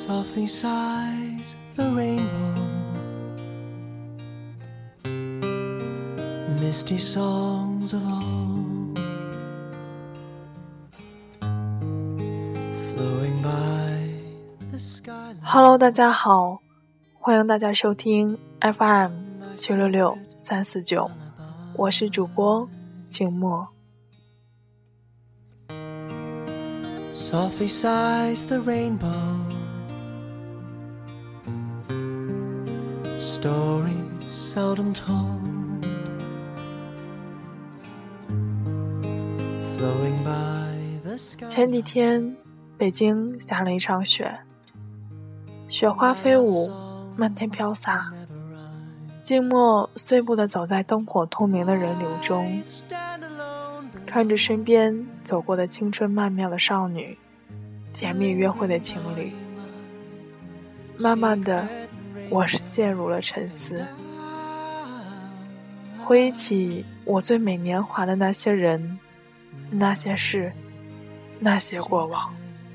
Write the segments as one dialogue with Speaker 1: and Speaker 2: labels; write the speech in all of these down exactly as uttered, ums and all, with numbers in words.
Speaker 1: Softly sighs the rainbow, misty songs of old, flowing by the skyline.
Speaker 2: Hello， 大家好，欢迎大家收听 F M 九六六三四九，我是主播静默。
Speaker 1: Softly sighs the rainbow, stories seldom told, flowing by the sky.
Speaker 2: 前几天北京下了一场雪，雪花飞舞，漫天飘洒。静默碎步地走在灯火通明的人流中，看着身边走过的青春曼妙的少女，甜蜜约会的情侣，慢慢的我是陷入了沉思。回忆起我最美年华的那些人，那些事，那些过往。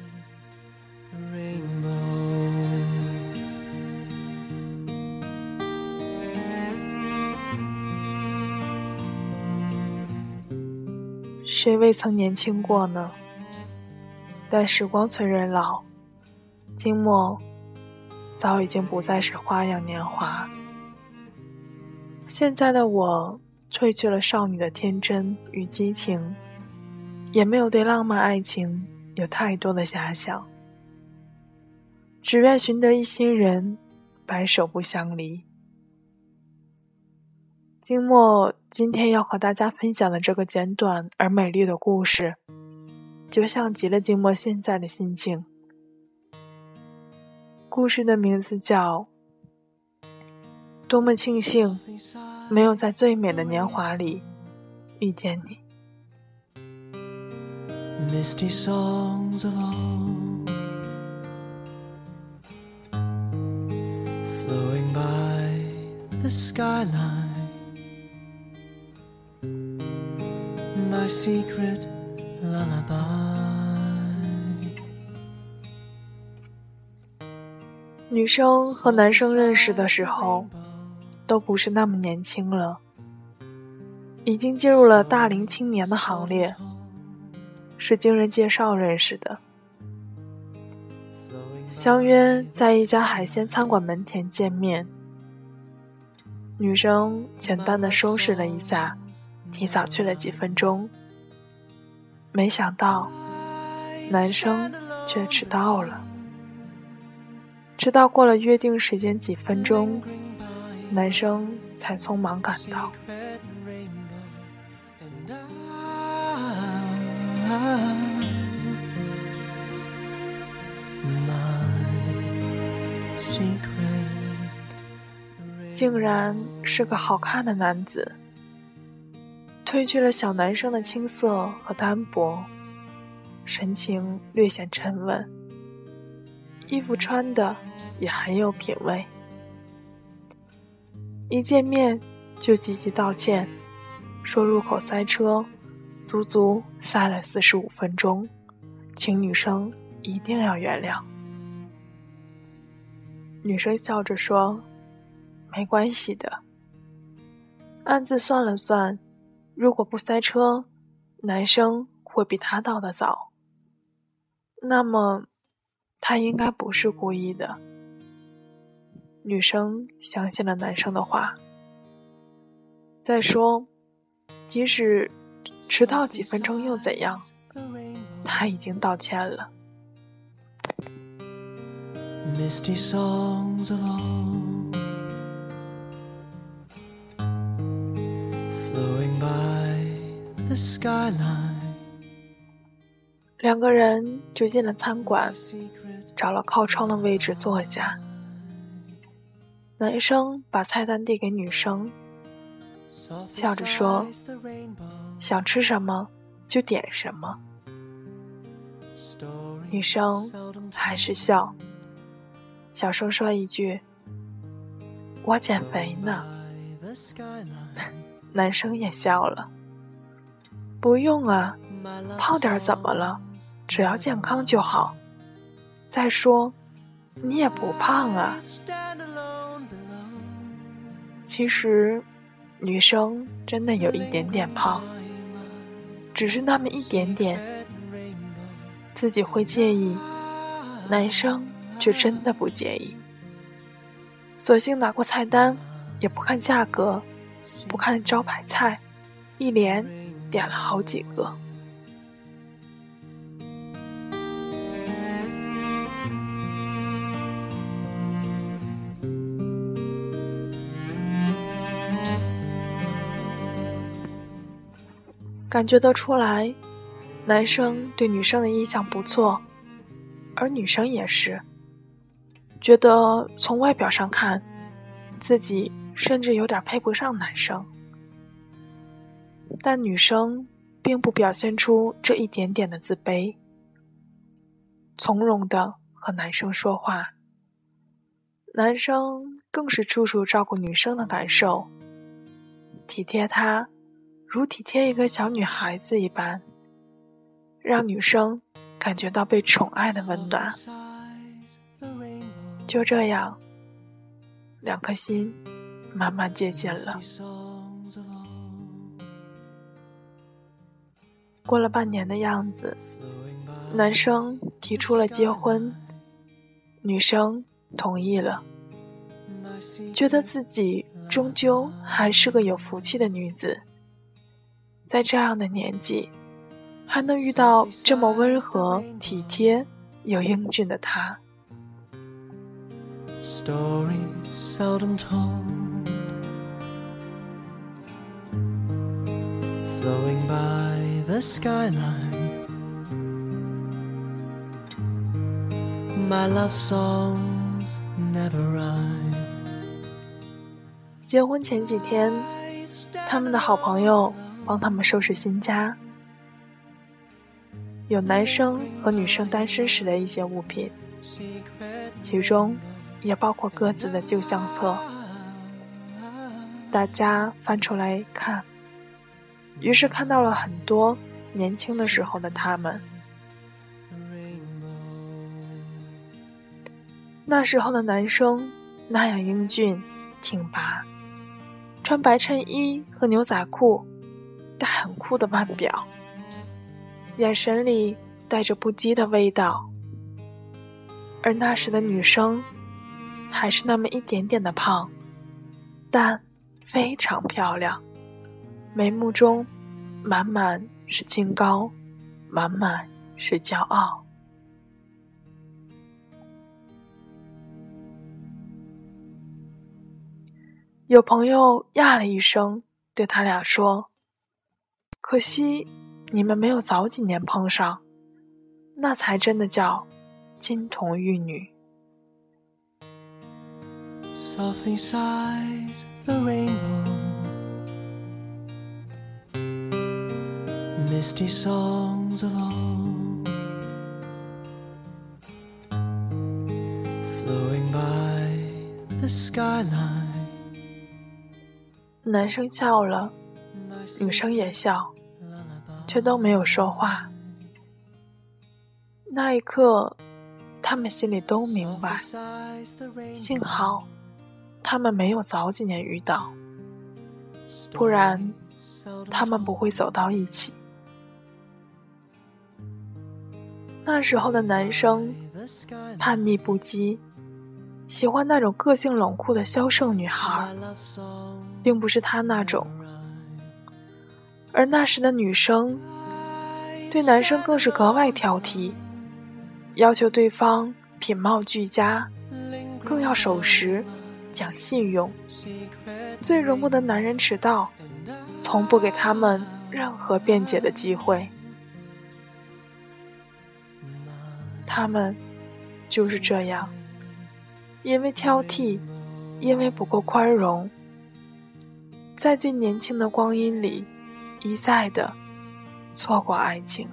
Speaker 2: 谁未曾年轻过呢？但时光催人老，静默早已经不再是花样年华。现在的我褪去了少女的天真与激情，也没有对浪漫爱情有太多的遐想，只愿寻得一心人，白首不相离。静默今天要和大家分享的这个简短而美丽的故事，就像极了静默现在的心境。故事的名字叫多么庆幸没有在最美的年华里遇见你。
Speaker 1: Misty songs of old, flowing by the skyline, my secret lullaby.
Speaker 2: 女生和男生认识的时候都不是那么年轻了，已经进入了大龄青年的行列，是经人介绍认识的。相约在一家海鲜餐馆门前见面，女生简单的收拾了一下，提早去了几分钟，没想到男生却迟到了。直到过了约定时间几分钟，男生才匆忙赶到。竟然是个好看的男子，褪去了小男生的青涩和单薄，神情略显沉稳，衣服穿的也很有品味。一见面就积极道歉，说入口塞车，足足塞了四十五分钟，请女生一定要原谅。女生笑着说，没关系的。暗自算了算，如果不塞车，男生会比他到得早，那么他应该不是故意的。女生相信了男生的话。再说，即使迟到几分钟又怎样，他已经道歉了。
Speaker 1: Misty songs of old, flowing by the skyline.
Speaker 2: 两个人就进了餐馆，找了靠窗的位置坐下。男生把菜单递给女生，笑着说，想吃什么就点什么。女生还是笑，小声说一句，我减肥呢。男生也笑了，不用啊，胖点怎么了，只要健康就好。再说你也不胖啊。其实女生真的有一点点胖，只是那么一点点，自己会介意，男生却真的不介意。索性拿过菜单，也不看价格，不看招牌菜，一连点了好几个。感觉得出来，男生对女生的印象不错，而女生也是，觉得从外表上看，自己甚至有点配不上男生。但女生并不表现出这一点点的自卑，从容地和男生说话，男生更是处处照顾女生的感受，体贴她如体贴一个小女孩子一般，让女生感觉到被宠爱的温暖。就这样，两颗心慢慢接近了。过了半年的样子，男生提出了结婚，女生同意了，觉得自己终究还是个有福气的女子，在这样的年纪还能遇到这么温和体贴又英俊的他。
Speaker 1: Stories seldom told, flowing by the skyline, my love songs never rhyme.
Speaker 2: 结婚前几天，他们的好朋友帮他们收拾新家，有男生和女生单身时的一些物品，其中也包括各自的旧相册。大家翻出来看，于是看到了很多年轻的时候的他们。那时候的男生那样英俊挺拔，穿白衬衣和牛仔裤，带很酷的腕表，眼神里带着不羁的味道。而那时的女生还是那么一点点的胖，但非常漂亮，眉目中满满是清高，满满是骄傲。有朋友呀了一声，对他俩说，可惜你们没有早几年碰上，那才真的叫金童玉女。
Speaker 1: Softly sighs the rainbow, misty songs of old, flowing by the skyline.
Speaker 2: 男生笑了，女生也笑，却都没有说话。那一刻，他们心里都明白，幸好他们没有早几年遇到，不然他们不会走到一起。那时候的男生叛逆不羁，喜欢那种个性冷酷的销售女孩，并不是他那种。而那时的女生对男生更是格外挑剔，要求对方品貌俱佳，更要守时讲信用，最容不得男人迟到，从不给他们任何辩解的机会。他们就是这样，因为挑剔，因为不够宽容，在最年轻的光阴里一再的错过爱情。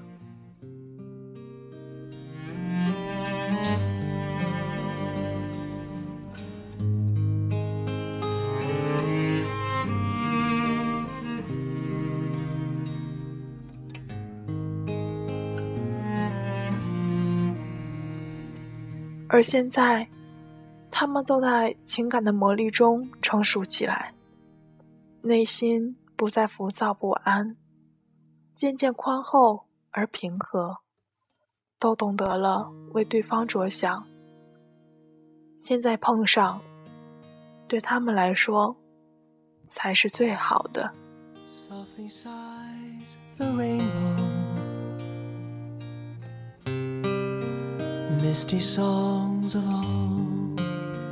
Speaker 2: 而现在他们都在情感的磨砺中成熟起来，内心不再浮躁不安，渐渐宽厚而平和，都懂得了为对方着想。现在碰上，对他们来说才是最好的。
Speaker 1: Softly sighs the rainbow, misty songs of old,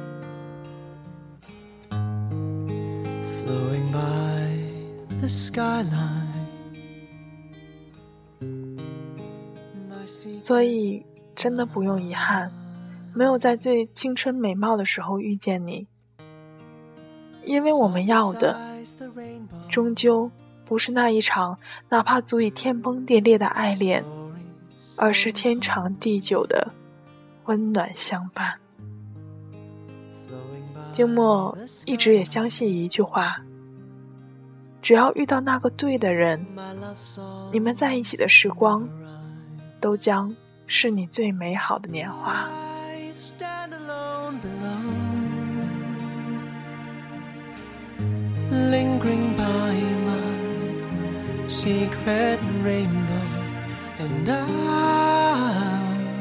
Speaker 1: flowing by the skyline.
Speaker 2: 所以真的不用遗憾，没有在最青春美貌的时候遇见你，因为我们要的终究不是那一场哪怕足以天崩地裂的爱恋，而是天长地久的温暖相伴。静默一直也相信一句话，只要遇到那个对的人，你们在一起的时光都将是你最美好的年华。
Speaker 1: Lingering by my secret rainbow, and I,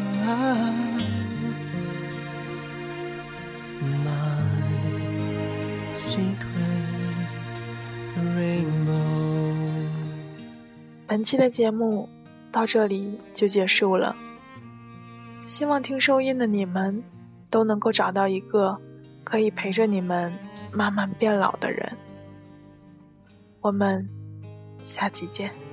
Speaker 1: my secret rainbow.
Speaker 2: 本期的节目到这里就结束了，希望听收音的你们都能够找到一个可以陪着你们慢慢变老的人。我们下期见。